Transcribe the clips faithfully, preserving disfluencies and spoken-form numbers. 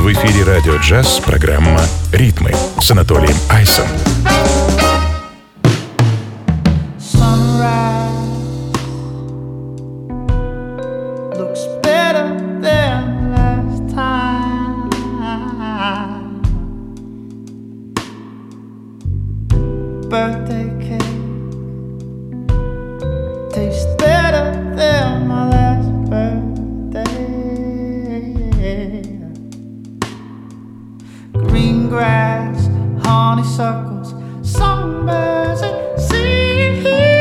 В эфире «Радио Джаз» программа «Ритмы» с Анатолием Айсом. Birthday cake tastes better than my last birthday. Green grass, honeysuckles, songbirds at sea.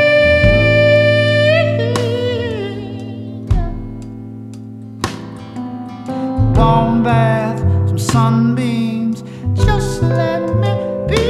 Warm bath, some sunbeams, just let me be.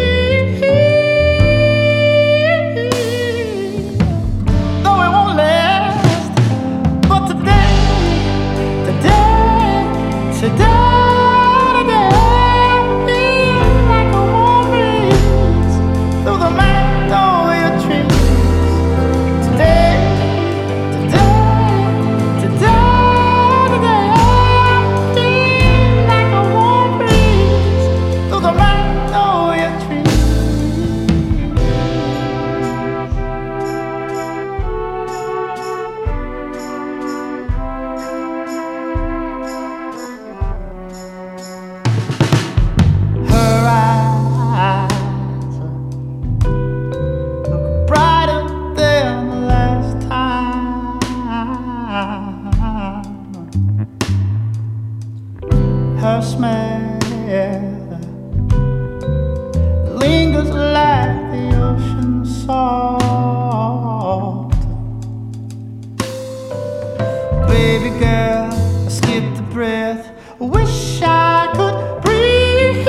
Her smell lingers like the ocean salt. Baby girl, I skipped a breath. Wish I could breathe.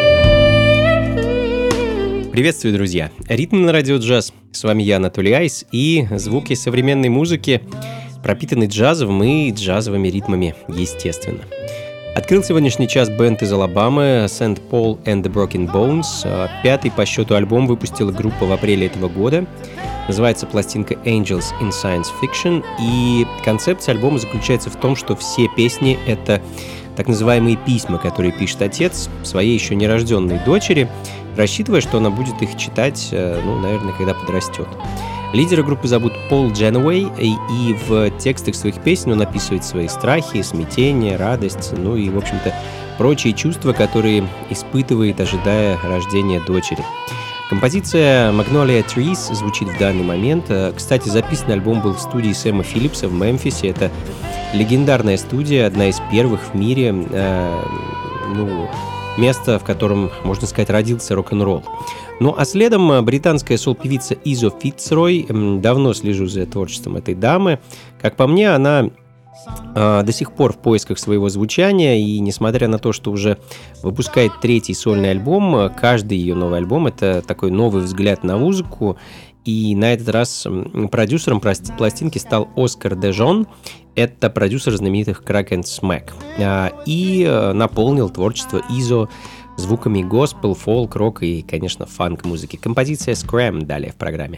Приветствую, друзья! Ритм на радио джаз. С вами я, Анатолий Айс, и звуки современной музыки пропитаны джазовым и джазовыми ритмами, естественно. Открыл сегодняшний час бенд из Алабамы Сент Пол and the Broken Bones. Пятый по счету альбом выпустила группа в апреле этого года. Называется пластинка Angels in Science Fiction. И концепция альбома заключается в том, что все песни — это так называемые письма, которые пишет отец своей еще нерожденной дочери, рассчитывая, что она будет их читать, ну, наверное, когда подрастет. Лидера группы зовут Пол Дженуэй, и, и в текстах своих песен он описывает свои страхи, смятение, радость, ну и, в общем-то, прочие чувства, которые испытывает, ожидая рождения дочери. Композиция Magnolia Trees звучит в данный момент. Кстати, записан альбом был в студии Сэма Филлипса в Мемфисе. Это легендарная студия, одна из первых в мире, э, ну, место, в котором, можно сказать, родился рок-н-ролл. Ну а следом британская сол-певица Изо Фицрой. Давно слежу за творчеством этой дамы. Как по мне, она э, до сих пор в поисках своего звучания, и несмотря на то, что уже выпускает третий сольный альбом, каждый ее новый альбом — это такой новый взгляд на музыку. И на этот раз продюсером пластинки стал Оскар Дежон. Это продюсер знаменитых Crack and Smack. И наполнил творчество Изо звуками госпел, фолк, рок и, конечно, фанк-музыки. Композиция Scram далее в программе.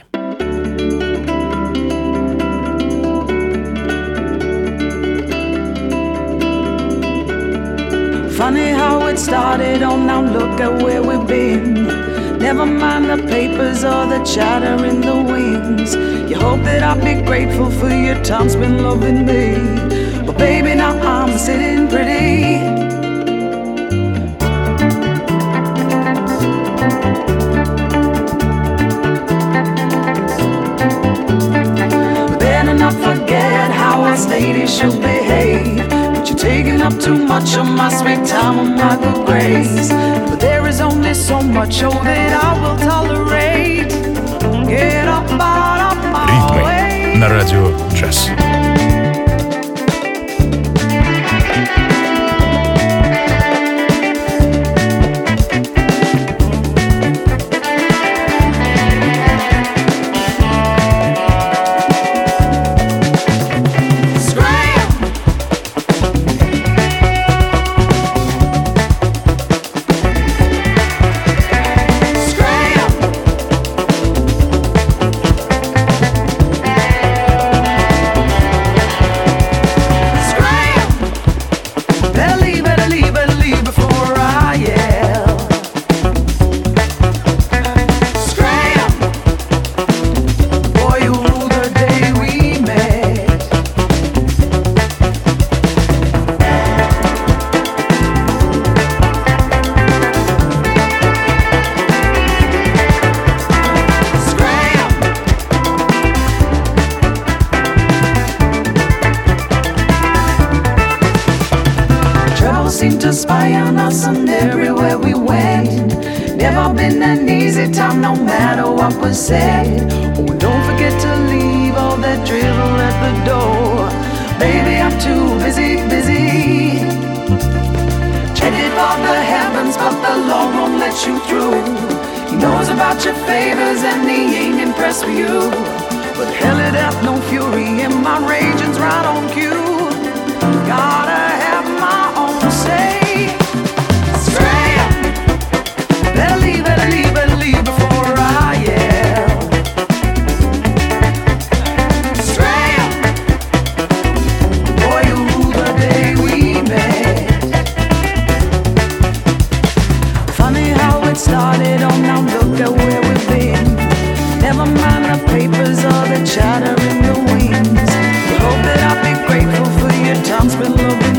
Funny how it started, oh now look at where we've been. Never mind the papers or the chatter in the wings. You hope that I'll be grateful for your time spent loving me. But baby, now I'm sitting pretty. Better not forget how us ladies should behave. But you're taking up too much of my sweet time and my good grace. But there is only so much oh, that I will tolerate. Get up out of my way. Ритмы на радио джаз. Scram! seemed to spy on us and everywhere we went. Never been an easy time, no matter what was said. Oh, don't forget to leave all that drivel at the door. Baby, I'm too busy, busy. Headed for the heavens, but the Lord won't let you through. He knows about your favors and he ain't impressed with you. But hell, it hath no fury and my raging's right on cue. Gotta have my own say. Stray, better leave, better leave, better leave before I yell. Stray, boy, you rule the day we met. Funny how it started on, now look at where we've been. Never mind the papers or the chatter in the wings. You hope that I'll be grateful for your time spent loving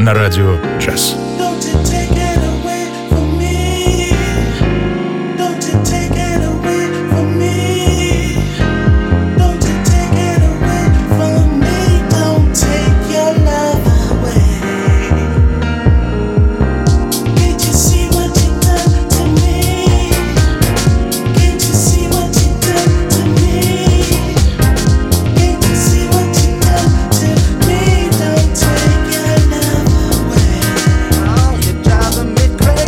на радио джаз. Driving me crazy.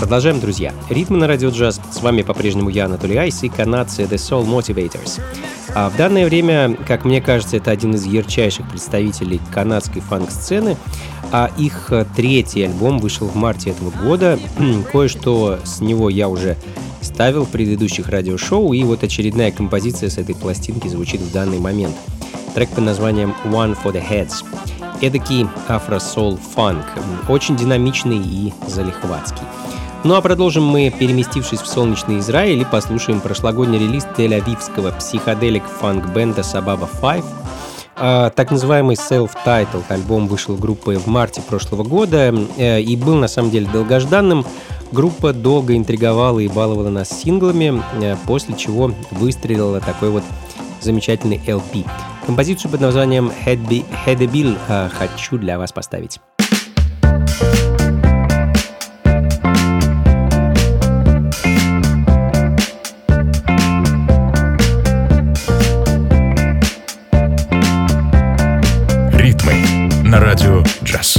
Продолжаем, друзья. Ритмы на радио джаз. С вами по-прежнему я, Анатолий Айс, и канадцы The Soul Motivators. А в данное время, как мне кажется, это один из ярчайших представителей канадской фанк-сцены. А их третий альбом вышел в марте этого года. Кое-что с него я уже ставил в предыдущих радиошоу, и вот очередная композиция с этой пластинки звучит в данный момент. Трек под названием One for the Heads. Эдакий афро-соул-фанк, очень динамичный и залихватский. Ну а продолжим мы, переместившись в солнечный Израиль, и послушаем прошлогодний релиз тель-авивского психоделик-фанк-бенда Sababa Five. А, так называемый self-titled альбом вышел группой в марте прошлого года э, и был на самом деле долгожданным. Группа долго интриговала и баловала нас синглами, э, после чего выстрелила такой вот замечательный эл пи. Композицию под названием «Hedebил» э, хочу для вас поставить. Ритмы на радио джаз.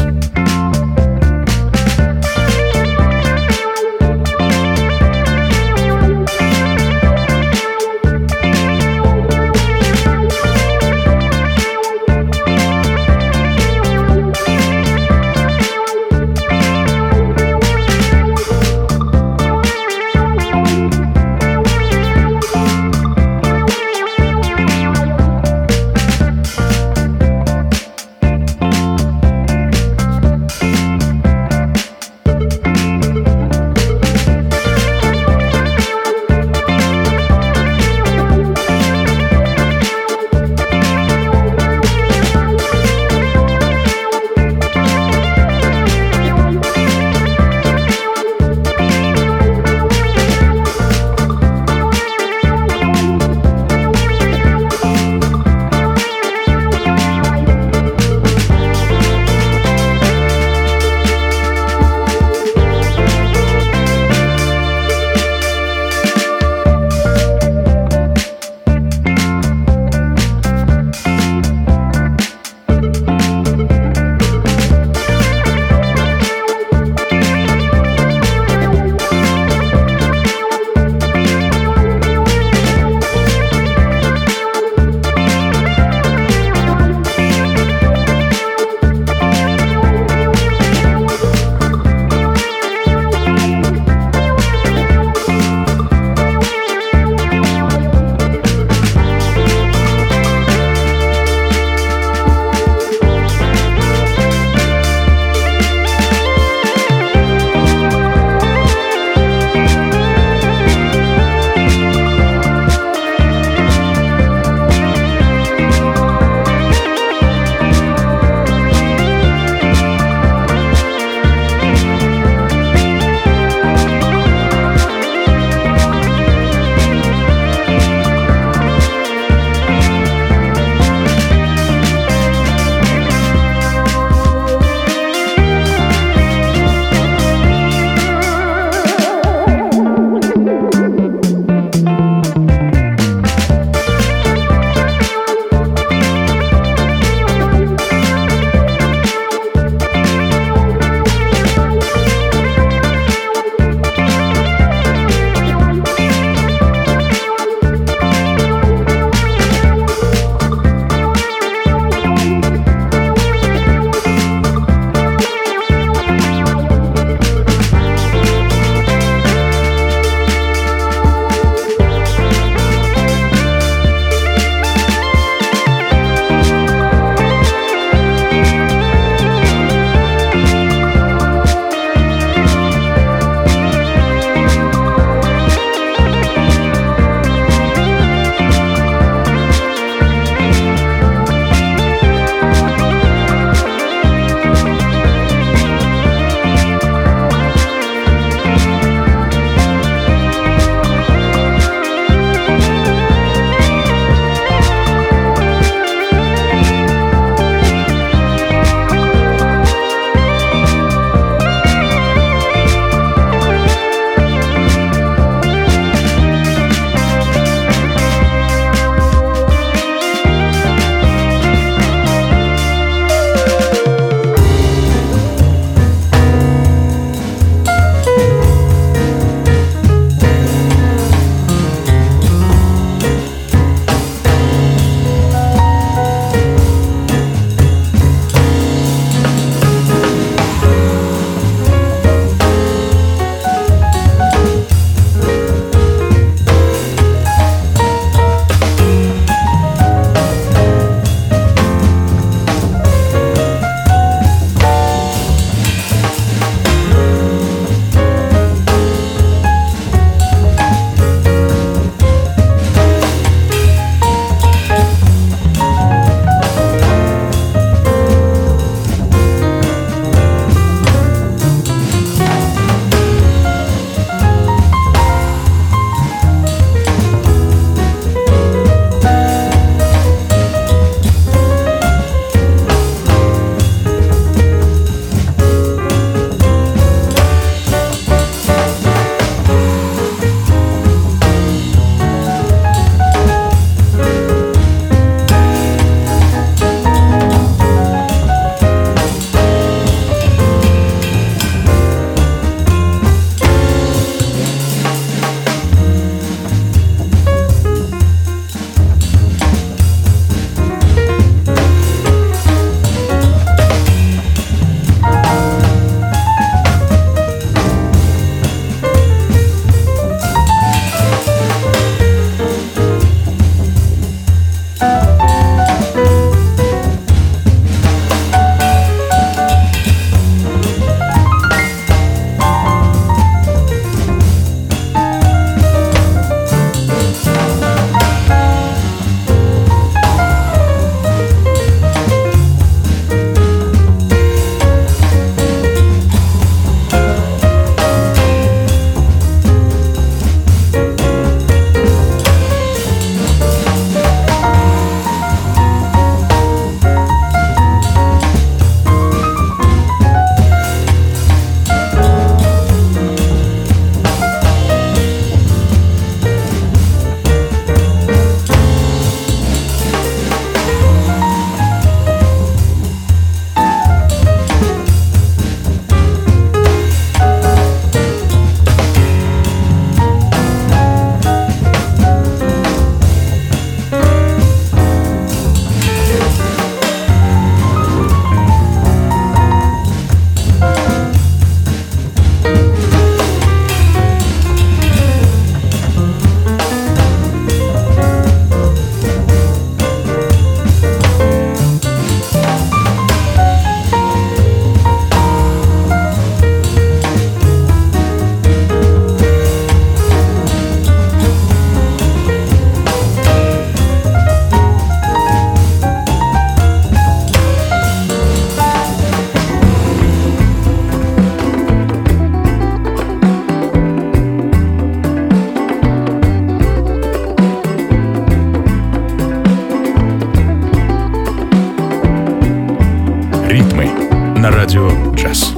на радио джаз.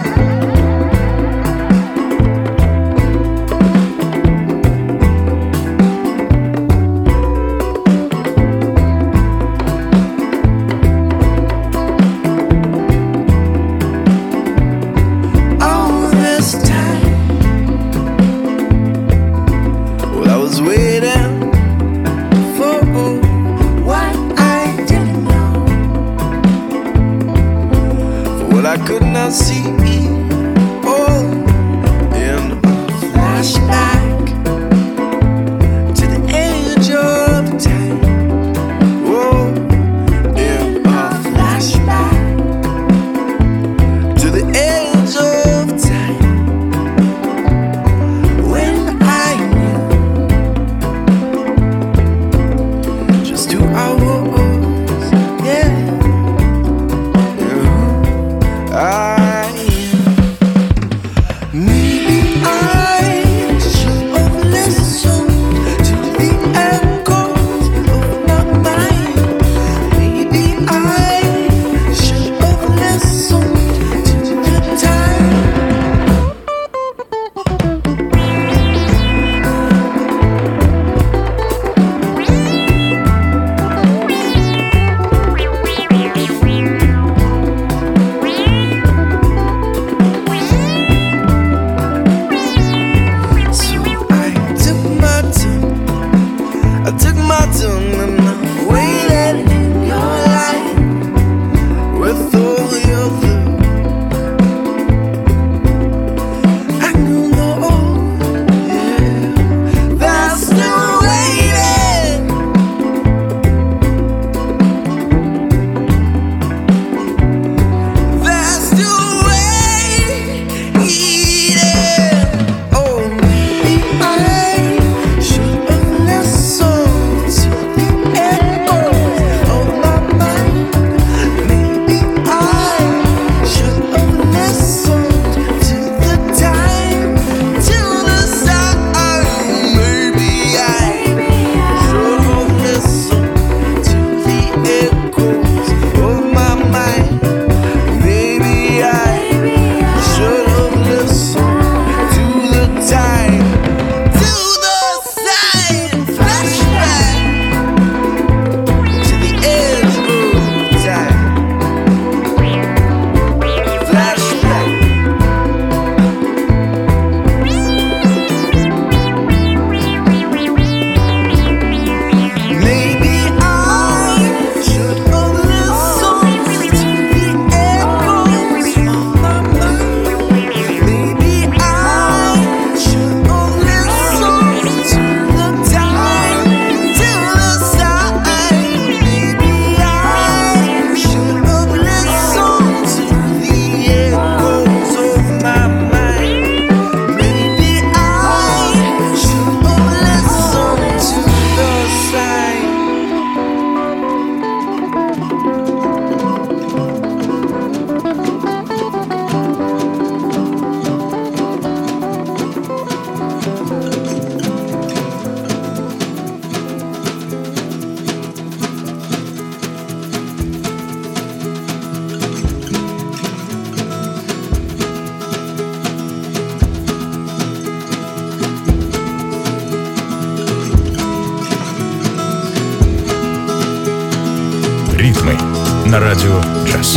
Ритмы на радио джаз.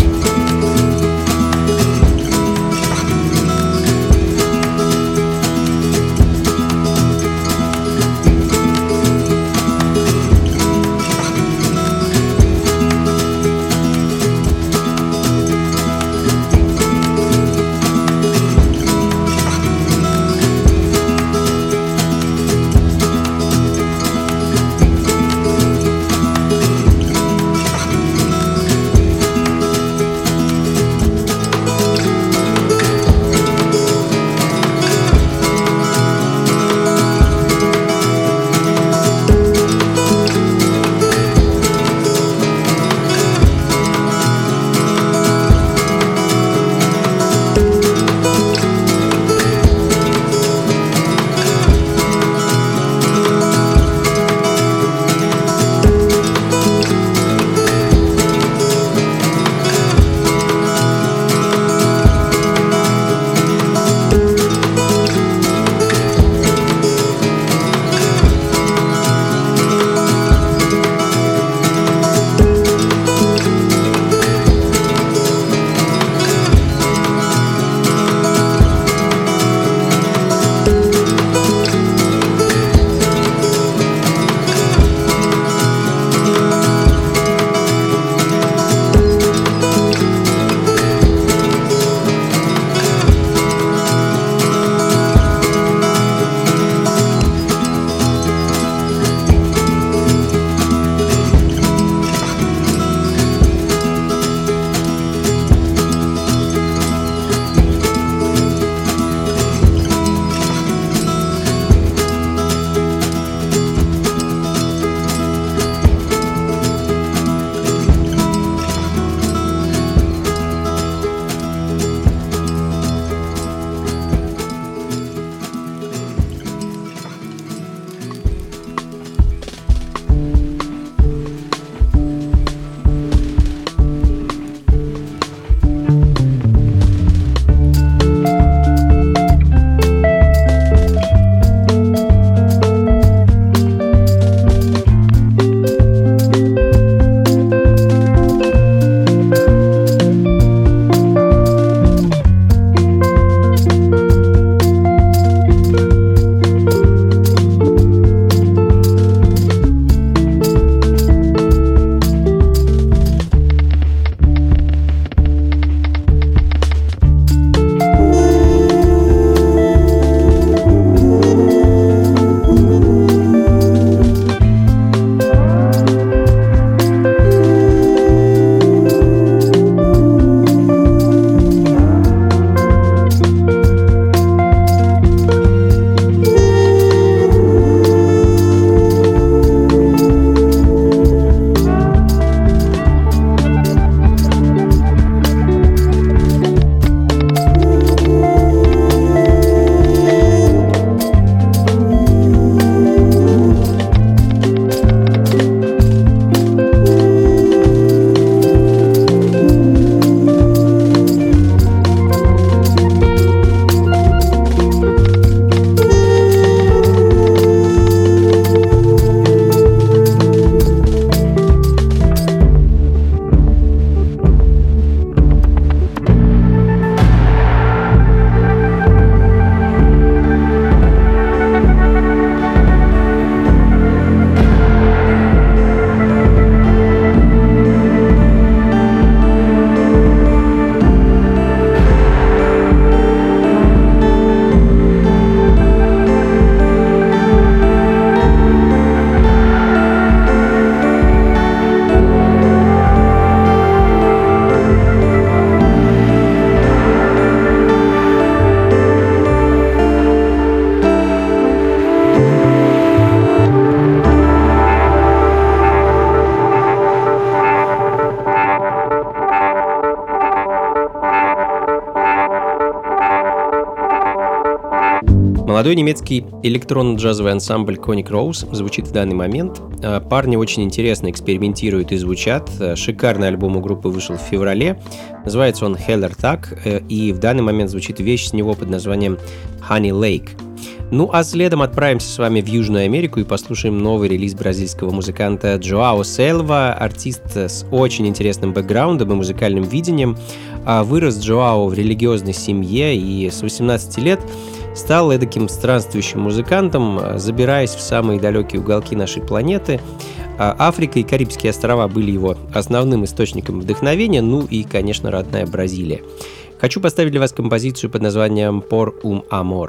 Молодой немецкий электронно-джазовый ансамбль Conic Rose звучит в данный момент. Парни очень интересно экспериментируют и звучат. Шикарный альбом у группы вышел в феврале. Называется он Heller Tag, и в данный момент звучит вещь с него под названием Honey Lake. Ну а следом отправимся с вами в Южную Америку и послушаем новый релиз бразильского музыканта Джоао Сельва, артист с очень интересным бэкграундом и музыкальным видением. Вырос Джоао в религиозной семье и с восемнадцати лет стал эдаким странствующим музыкантом, забираясь в самые далекие уголки нашей планеты. Африка и Карибские острова были его основным источником вдохновения, ну и, конечно, родная Бразилия. Хочу поставить для вас композицию под названием «Por un amor».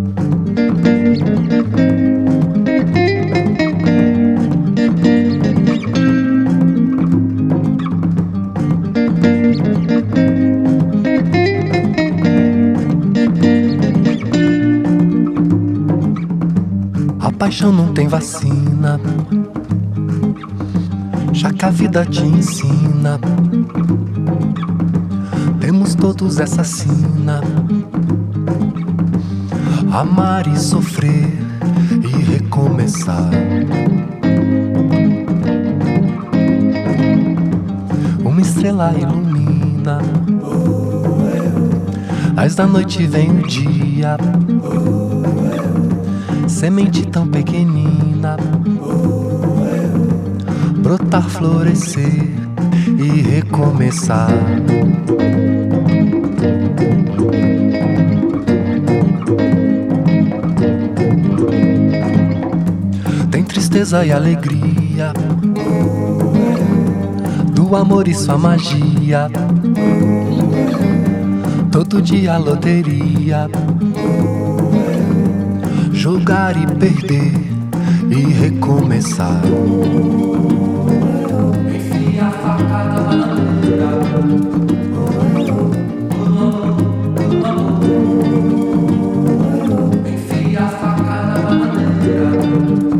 A paixão não tem vacina, já que a vida te ensina. Temos todos essa sina, amar e sofrer e recomeçar. Uma estrela ilumina, mas da noite vem o dia. Semente tão pequenina, brotar, florescer e recomeçar. Tem tristeza e alegria, do amor e sua magia. Todo dia loteria, jogar e perder e recomeçar. Enfia a faca na bananeira, enfia a faca na bananeira.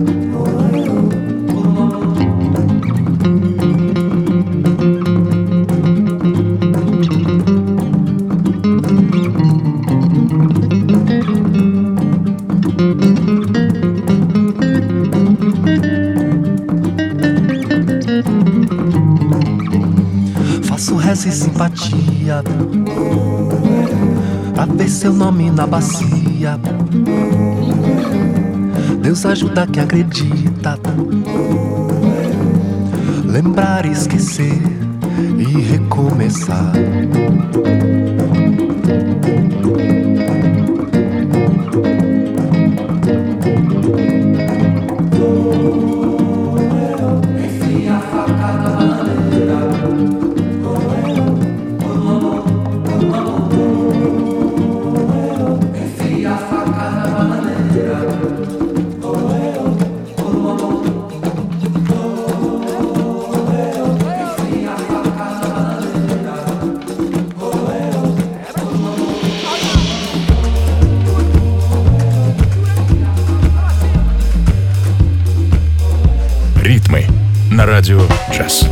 E simpatia pra ver seu nome na bacia. Deus ajuda quem acredita. Lembrar, esquecer e recomeçar. Enfia a faca na bananeira. Ритмы на радио «Джаз».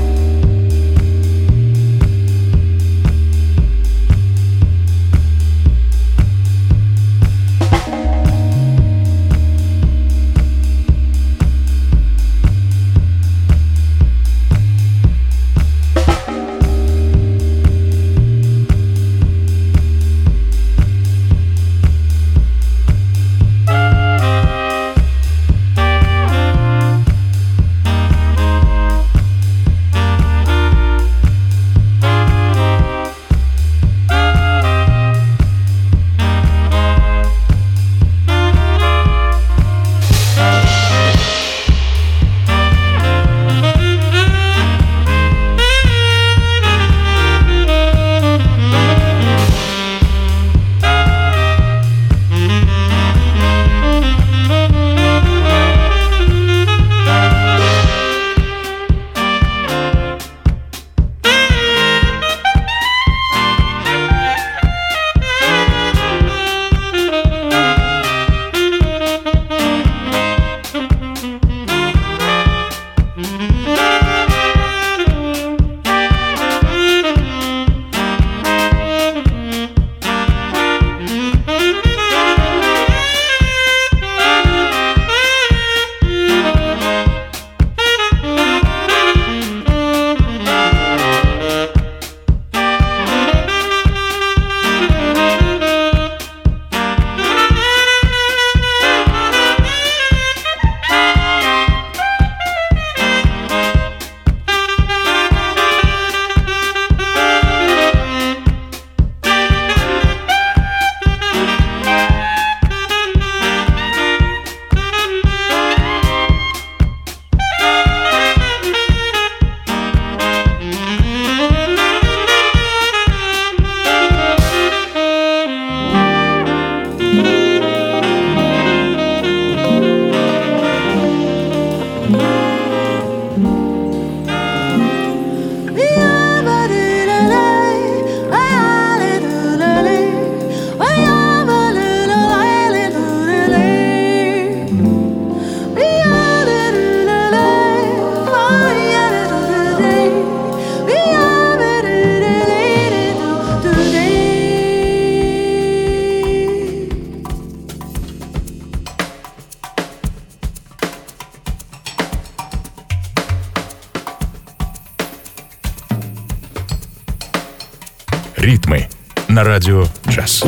на радио «Джаз».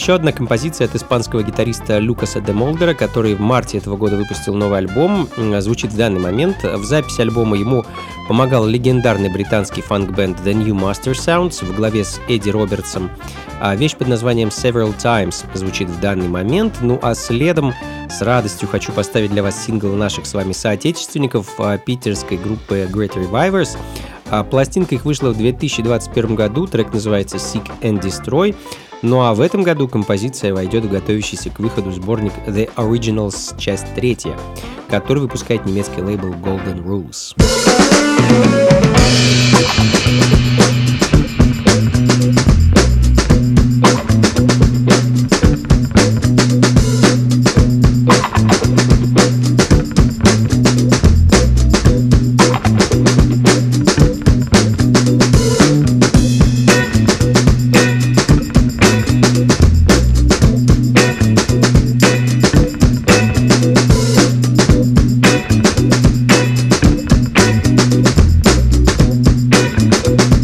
еще одна композиция от испанского гитариста Лукаса де Молдера, который в марте этого года выпустил новый альбом, звучит в данный момент. В записи альбома ему помогал легендарный британский фанк-бенд The New Master Sounds в главе с Эдди Робертсом. А вещь под названием Several Times звучит в данный момент. Ну а следом с радостью хочу поставить для вас сингл наших с вами соотечественников питерской группы Great Revivers. А пластинка их вышла в две тысячи двадцать первом году, трек называется Seek and Destroy. Ну а в этом году композиция войдет в готовящийся к выходу сборник The Originals, часть третья, который выпускает немецкий лейбл Golden Rules. We'll be right back.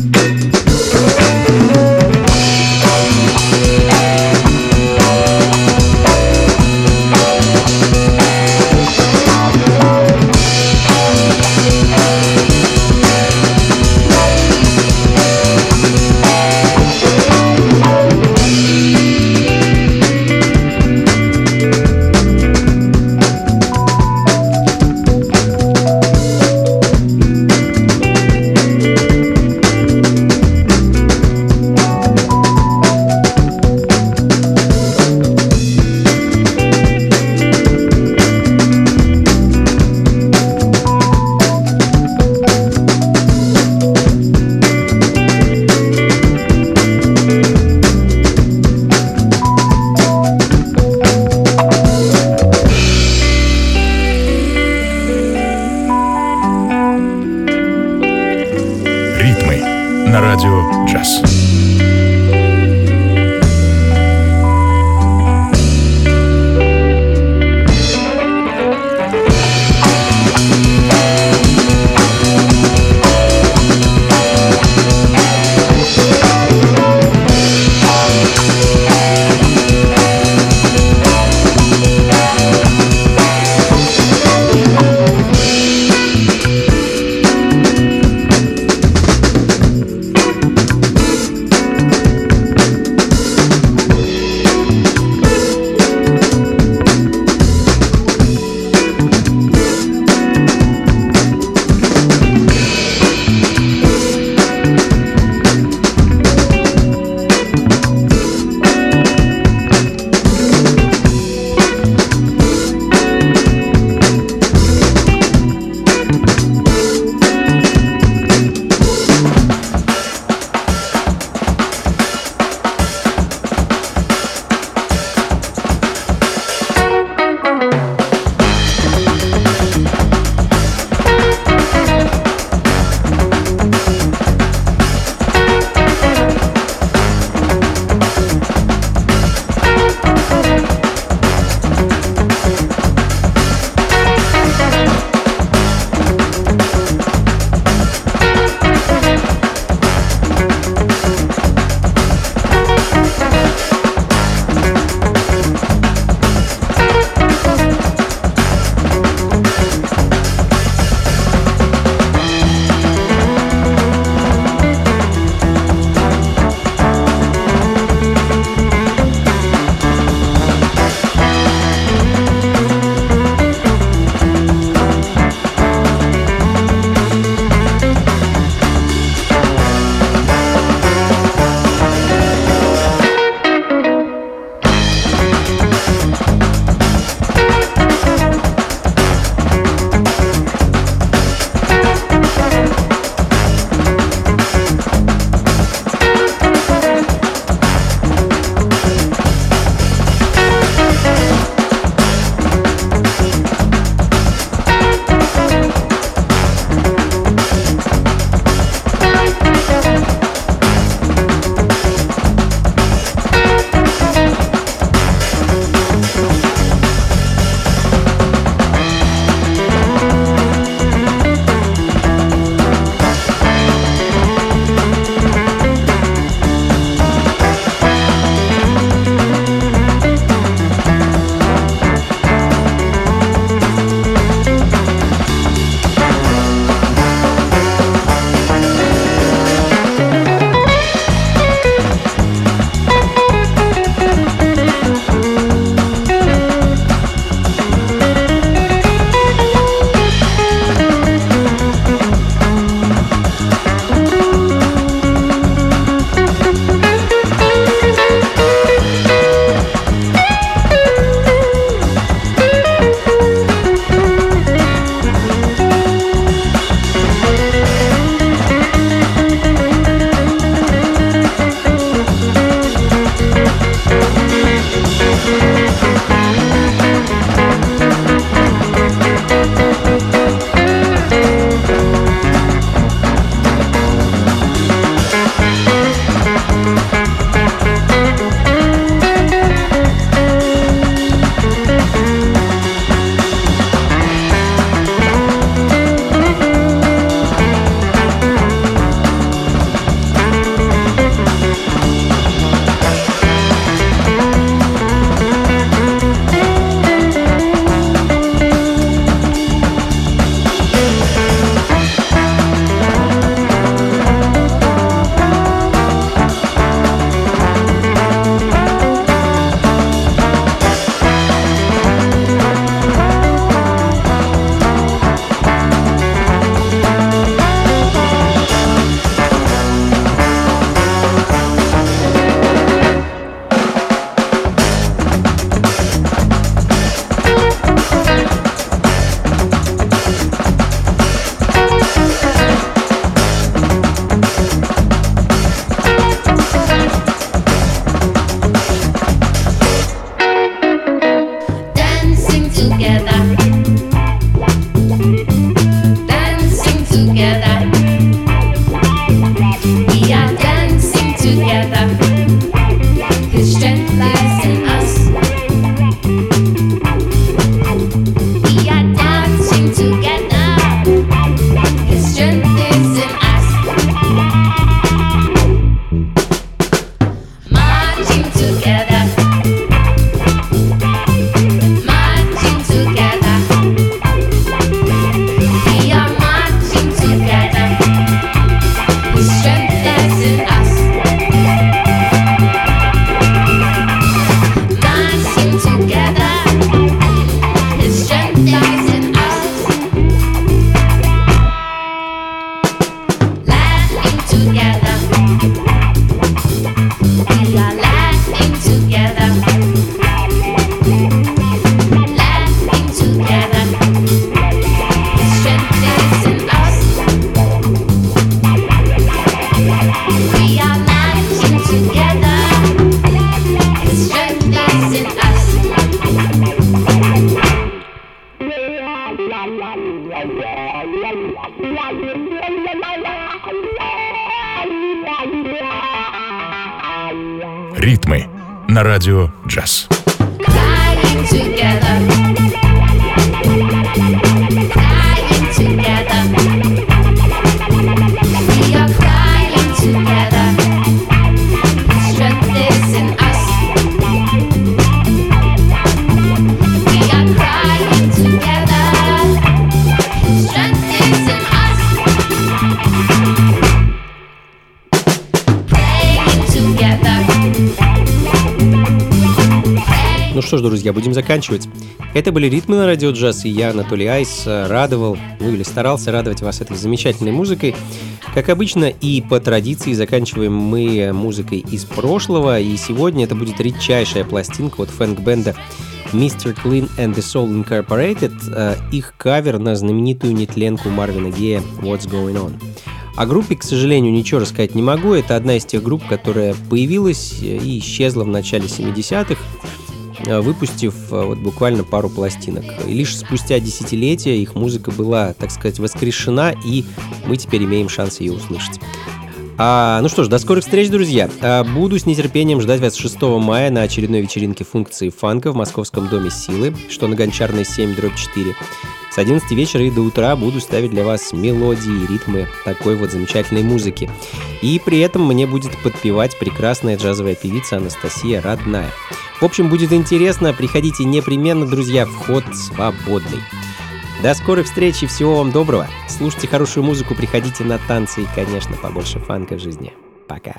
Ритмы на радио джаз. Ну что ж, друзья, будем заканчивать. Это были «Ритмы на радио джаз», и я, Анатолий Айс, радовал, ну или старался радовать вас этой замечательной музыкой. Как обычно и по традиции заканчиваем мы музыкой из прошлого, и сегодня это будет редчайшая пластинка от фэнк-бенда мистер Clean and the Soul Incorporated, их кавер на знаменитую нетленку Марвина Гея «What's Going On». О группе, к сожалению, ничего рассказать не могу. Это одна из тех групп, которая появилась и исчезла в начале семидесятых, выпустив вот буквально пару пластинок. И лишь спустя десятилетия их музыка была, так сказать, воскрешена, и мы теперь имеем шанс ее услышать. А, ну что ж, до скорых встреч, друзья. А, буду с нетерпением ждать вас шестого мая на очередной вечеринке функции фанка в Московском доме силы, что на Гончарной семь дробь четыре. С одиннадцати вечера и до утра буду ставить для вас мелодии и ритмы такой вот замечательной музыки. И при этом мне будет подпевать прекрасная джазовая певица Анастасия Родная. В общем, будет интересно. Приходите непременно, друзья, вход свободный. До скорых встреч и всего вам доброго. Слушайте хорошую музыку, приходите на танцы и, конечно, побольше фанка в жизни. Пока.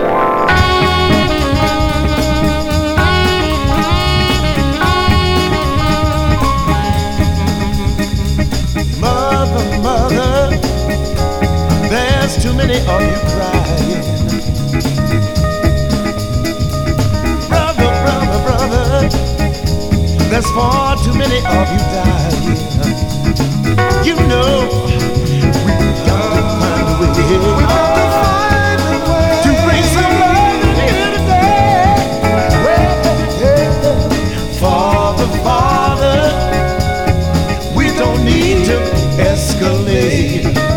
Mother, mother, there's too many of you crying. Brother, brother, brother, there's far too many of you dying. You know, we've got to find a way. We've got to find a way to bring some love in here today. Well, yeah. Father, Father, we don't need to escalate.